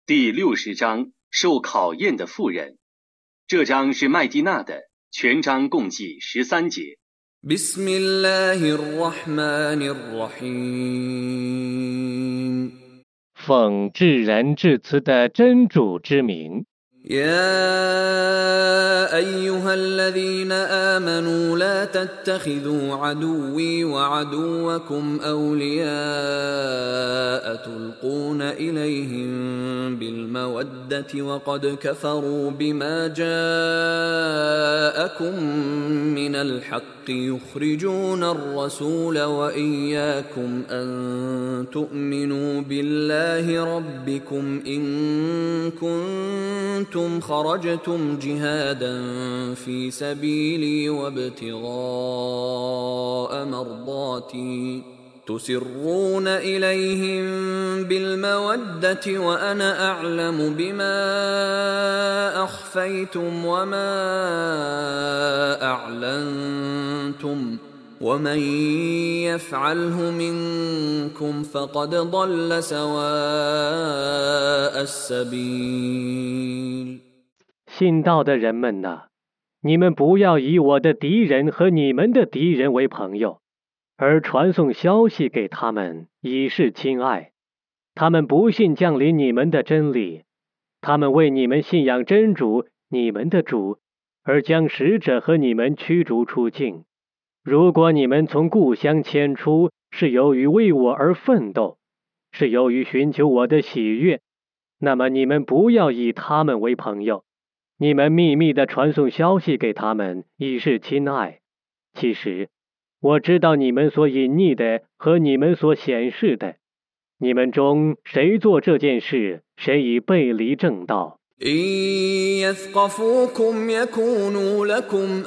第60章受考验的妇人。这章是麦地那的，全章共计13节。 بسم الله الرحمن الرحيم 奉至仁至慈的真主之名。 يا أيها الذين آمنوا لا تتخذوا عدوي وعدوكم أولياء تلقون إليهم بالمودة وقد كفروا بما جاءكم من الحق يخرجون الرسول وإياكم أن تؤمنوا بالله ربكم إن كنتم خرجتم جهادا في سبيلي وابتغاء مرضاتي تسرون إليهم بالمودة وأنا أعلم بما أخفيتم وما أعلنتم ومن يفعله منكم فقد ضل سواء السبيل 信道的人们哪，你们不要以我的敌人和你们的敌人为朋友，而传送消息给他们，以示亲爱。他们不信降临你们的真理，他们为你们信仰真主，你们的主，而将使者和你们驱逐出境。如果你们从故乡迁出，是由于为我而奋斗，是由于寻求我的喜悦，那么你们不要以他们为朋友。你们秘密地传送消息给他们，以示亲爱。其实，我知道你们所隐匿的和你们所显示的。你们中谁做这件事，谁已背离正道。 إن يثقفوكم يكونوا لكم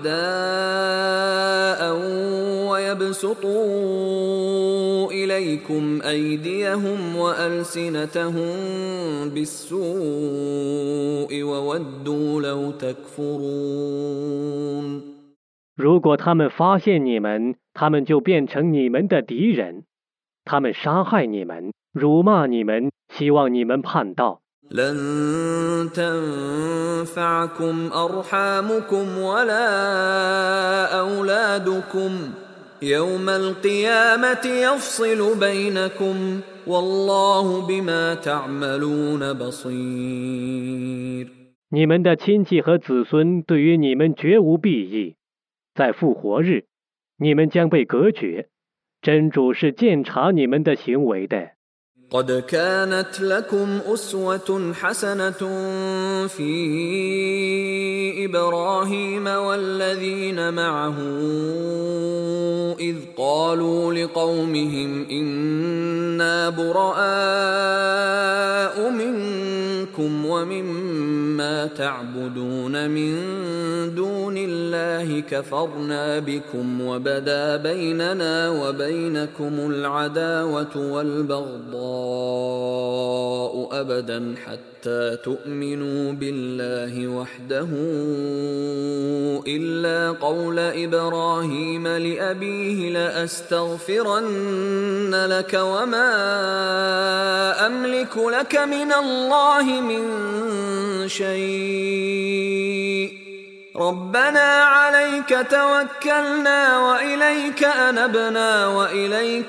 أعداء ويبسطوا إليكم أيديهم وألسنتهم بالسوء وودوا لو تكفرون 如果他们发现你们，他们就变成你们的敌人，他们杀害你们，辱骂你们，希望你们叛道。 لن تنفعكم أرحامكم ولا أولادكم يوم القيامة يفصل بينكم والله بما تعملون بصير 你们的亲戚和子孙对于你们绝无裨益，在复活日，你们将被隔绝。真主是鉴察你们的行为的。 قد كانت لكم أسوة حسنة في إبراهيم والذين معه إذ قالوا لقومهم إنا براء منكم ومما تعبدون من دون الله كفرنا بكم وبدا بيننا وبينكم العداوة والبغضاء أبدا حتى تؤمنوا بالله وحده إلا قول إبراهيم لأبيه لأستغفرن لك وما أملك لك من الله من شيء ربنا عليك توكلنا وإليك أنبنا وإليك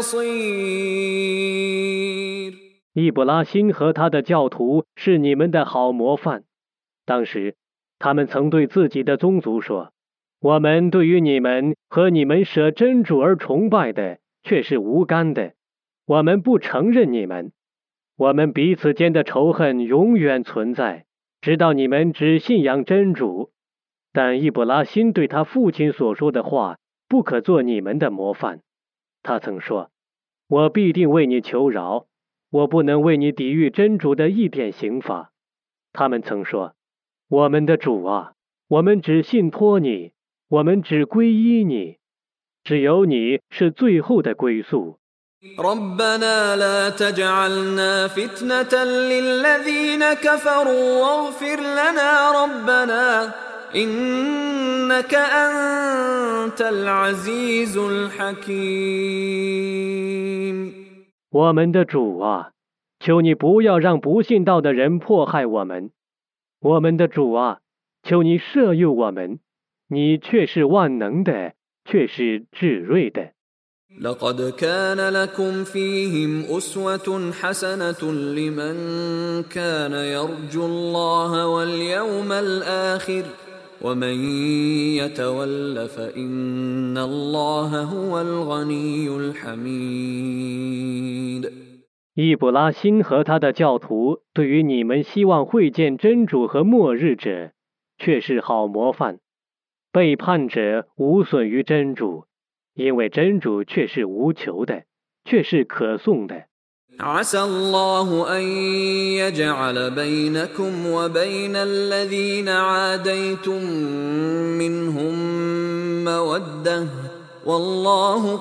المصير 易卜拉欣和他的教徒是你们的好模范。当时，他们曾对自己的宗族说：“我们对于你们和你们舍真主而崇拜的，却是无干的。我们不承认你们，我们彼此间的仇恨永远存在，直到你们只信仰真主。”但易卜拉欣对他父亲所说的话，不可做你们的模范。他曾说：“我必定为你求饶。我不能为你抵御真主的一点刑罚。”他们曾说：“我们的主啊，我们只信托你，我们只皈依你，只有你是最后的归宿。” ربنا لا تجعلنا فتنة للذين كفروا واغفر لنا ربنا إنك أنت العزيز الحكيم 我们的主啊， 求你不要让不信道的人迫害我们。我们的主啊，求你赦宥我们，你却是万能的，却是至睿的。 لقد كان لكم فيهم أسوة حسنة لمن كان يرجو الله واليوم الآخر ومن يتول فإن الله هو الغني الحميد。 易卜拉欣和他的教徒对于你们希望会见真主和末日者，却是好模范。背叛者无损于真主，因为真主却是无求的，却是可颂的。 عسى الله أن يجعل بينكم وبين الذين عاديتم منهم مودة والله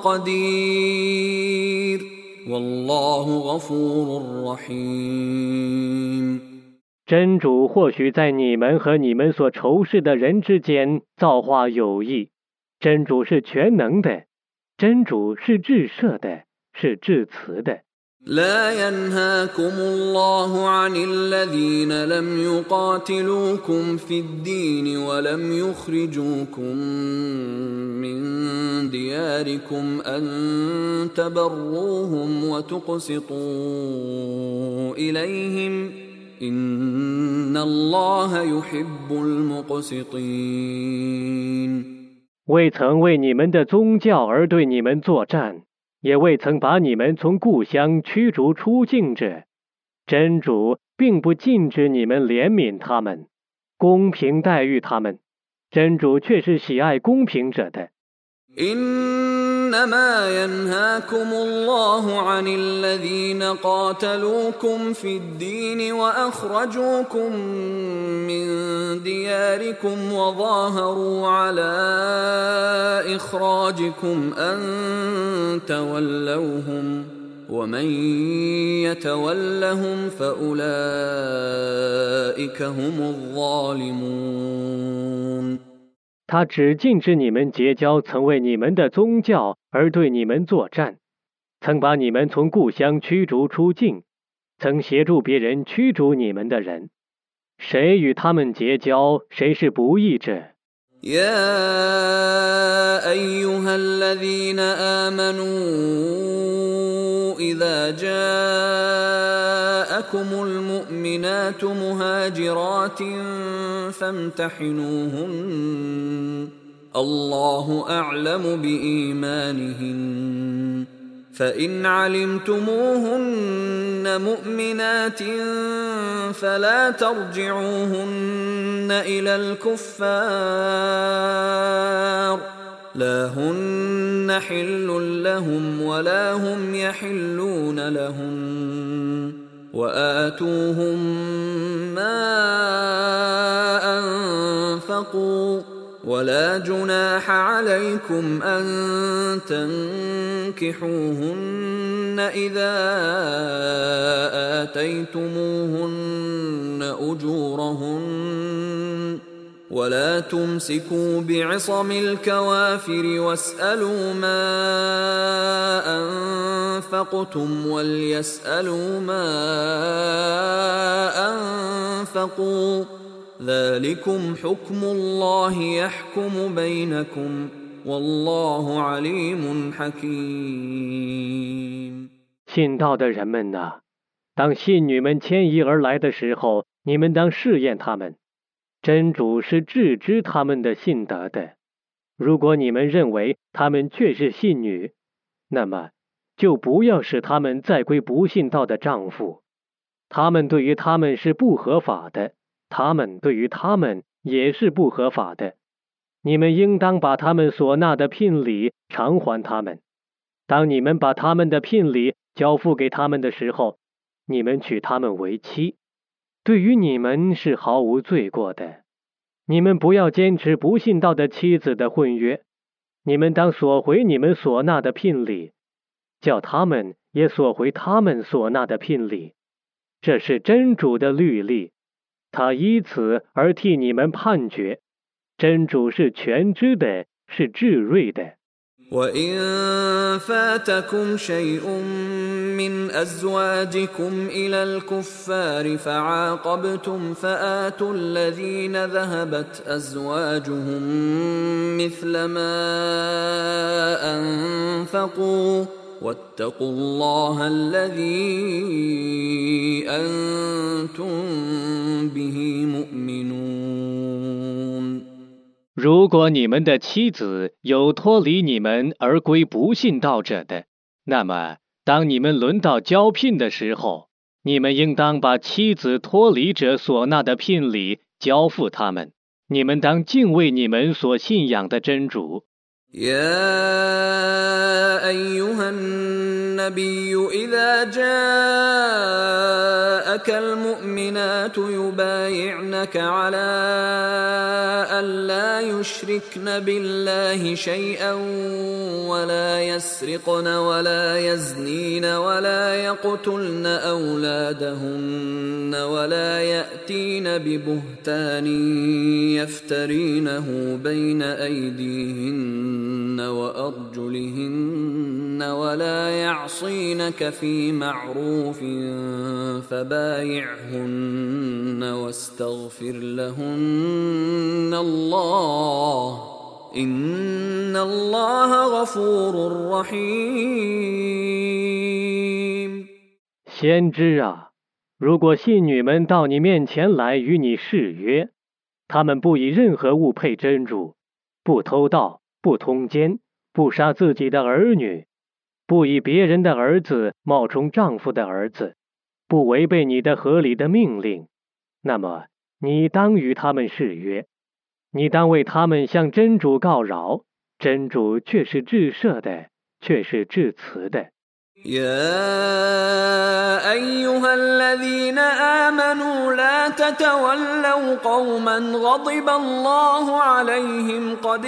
قدير والله غفور رحيم。 真主或许在你们和你们所仇视的人之间造化有益。真主是全能的，真主是至赦的，是至慈的。 لا ينهاكم الله عن الذين لم يقاتلوكم في الدين ولم يخرجوكم من دياركم أن تبروهم وتقسطوا إليهم إن الله يحب المقسطين。 未曾为你们的宗教而对你们作战，也未曾把你们从故乡驱逐出境者，真主并不禁止你们怜悯他们，公平待遇他们，真主却是喜爱公平者的。 إنما ينهاكم الله عن الذين قاتلوكم في الدين وأخرجوكم من دياركم وظاهروا على إخراجكم أن تولوهم ومن يتولهم فأولئك هم الظالمون。 他只禁止你们结交曾为你们的宗教而对你们作战，曾把你们从故乡驱逐出境，曾协助别人驱逐你们的人。谁与他们结交，谁是不义者。 يا أيها الذين آمنوا إذا جاءكم المؤمنات مهاجرات فامتحنوهن الله أعلم بإيمانهن فإن علمتموهن مؤمنات فلا ترجعوهن إلى الكفار لا هن حل لهم ولا هم يحلون لهن وآتوهم ما أنفقوا ولا جناح عليكم أن تنكحوهن إذا آتيتموهن أجورهن ولا تمسكوا بعصم الكوافر واسألوا ما أنفقتم وليسألوا ما أنفقوا ذلكم حكم الله يحكم بينكم والله عليم حكيم。 信道的人们哪，当信女们迁移而来的时候，你们当试验他们。真主是致知他们的信德的。如果你们认为他们确是信女，那么就不要使他们再归不信道的丈夫。他们对于他们是不合法的，他们对于他们也是不合法的。你们应当把他们所纳的聘礼偿还他们。当你们把他们的聘礼交付给他们的时候，你们娶他们为妻，对于你们是毫无罪过的。你们不要坚持不信道的妻子的婚约，你们当索回你们所纳的聘礼，叫他们也索回他们所纳的聘礼。这是真主的律例，他依此而替你们判决。真主是全知的，是至睿的。 وَإِن فَاتَكُمْ شَيْءٌ مِّنْ أَزْوَاجِكُمْ إِلَى الْكُفَّارِ فَعَاقَبْتُمْ فَآتُوا الَّذِينَ ذَهَبَتْ أَزْوَاجُهُم مِّثْلَ مَا أَنفَقُوا وَاتَّقُوا اللَّهَ الَّذِي أَنتُم بِهِ مُؤْمِنُونَ。 如果你们的妻子有脱离你们而归不信道者的，那么当你们轮到交聘的时候，你们应当把妻子脱离者所纳的聘礼交付他们。你们当敬畏你们所信仰的真主。 يا أيها النبي إذا جاءك المؤمنات يبايعنك على ألا يشركن بالله شيئا ولا يسرقن ولا يزنين ولا يقتلن أولادهن ولا يأتين ببهتان يفترينه بين أيديهن وأرجلهن ولا يعصينك في معروف فبايعهن واستغفر لهن الله إن الله غفور رحيم。 先知啊，如果信女们到你面前来与你誓约，他们不以任何物配真主，不偷盗，不通奸，不杀自己的儿女，不以别人的儿子冒充丈夫的儿子，不违背你的合理的命令，那么你当与他们誓约，你当为他们向真主告饶，真主却是至赦的，却是至慈的。 يا أيها الذين آمنوا لا تتولوا قوما غضب الله عليهم قد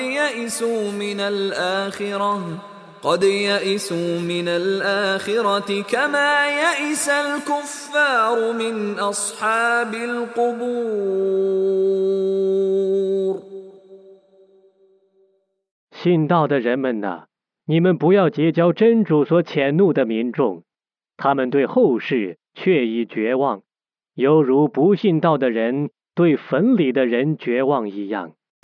يئسوا من الآخرة كما يئس الكفار من أصحاب القبور。 信道的人们哪，你们不要结交真主所谴怒的民众，他们对后世却已绝望，犹如不信道的人对坟里的人绝望一样。